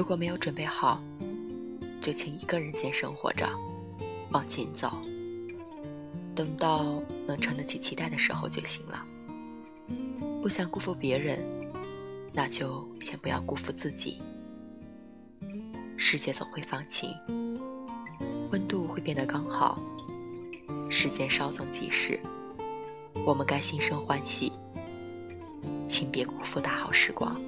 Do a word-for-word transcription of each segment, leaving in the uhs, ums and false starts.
如果没有准备好，就请一个人先生活着，往前走，等到能撑得起期待的时候就行了。不想辜负别人，那就先不要辜负自己。世界总会放晴，温度会变得刚好，时间稍纵即逝，我们该心生欢喜，请别辜负大好时光。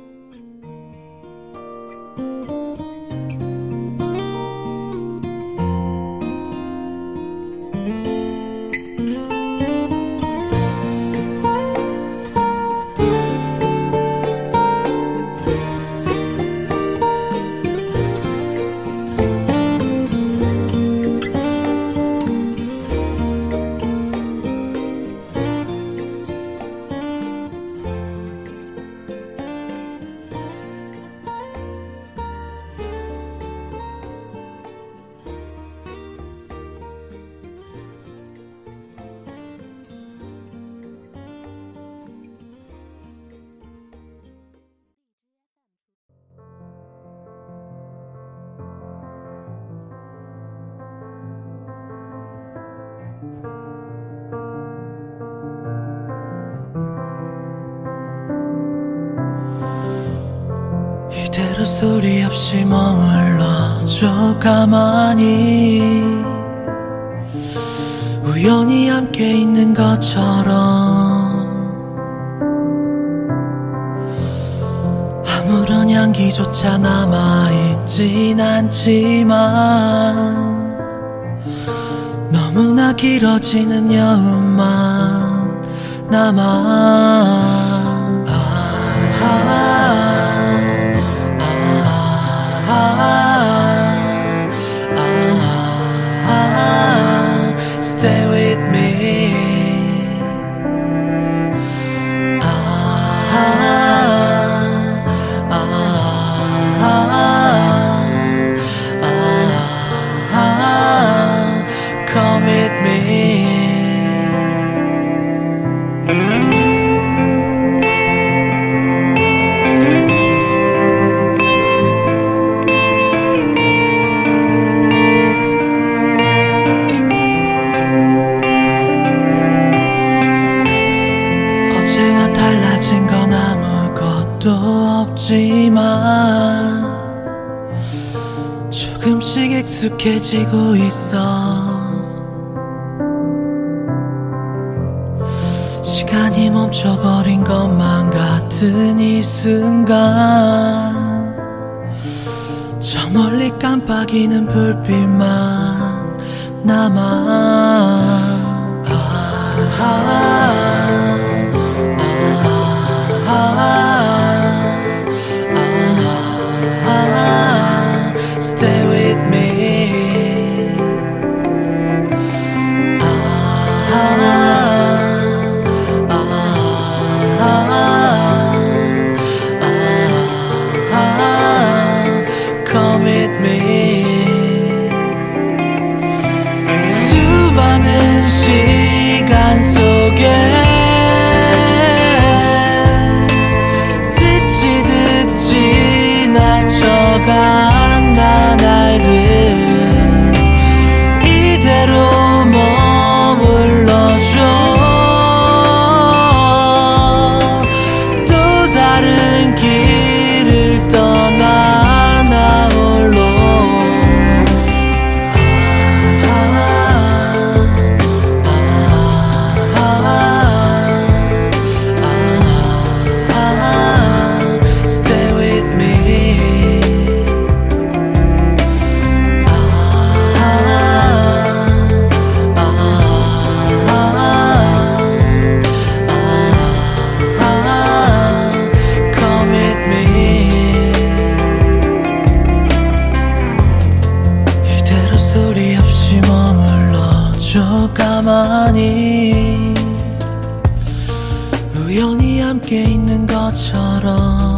이대로 소리 없이 머물러줘 가만히 우연히 함께 있는 것처럼 아무런 향기조차 남아있진 않지만 너무나 길어지는 여운만 남아 Stay with me. Ah, ah, ah, ah, ah, come with me. 달라진 건 아무것도 없지만 조금씩 익숙해지고 있어. 시간이 멈춰버린 것만 같은 이 순간 저 멀리 깜빡이는 불빛만 남아. 아, 아, Stay with me. Ah, ah, ah, ah, come with me. 수많은 시간 속에 스치듯 지나쳐간 나날들 이대로 머물러줘. 또 다른 길을 떠나 나 홀로. 아, 아, 아, 아, 아, stay with me. 가만히 우연히 함께 있는 것처럼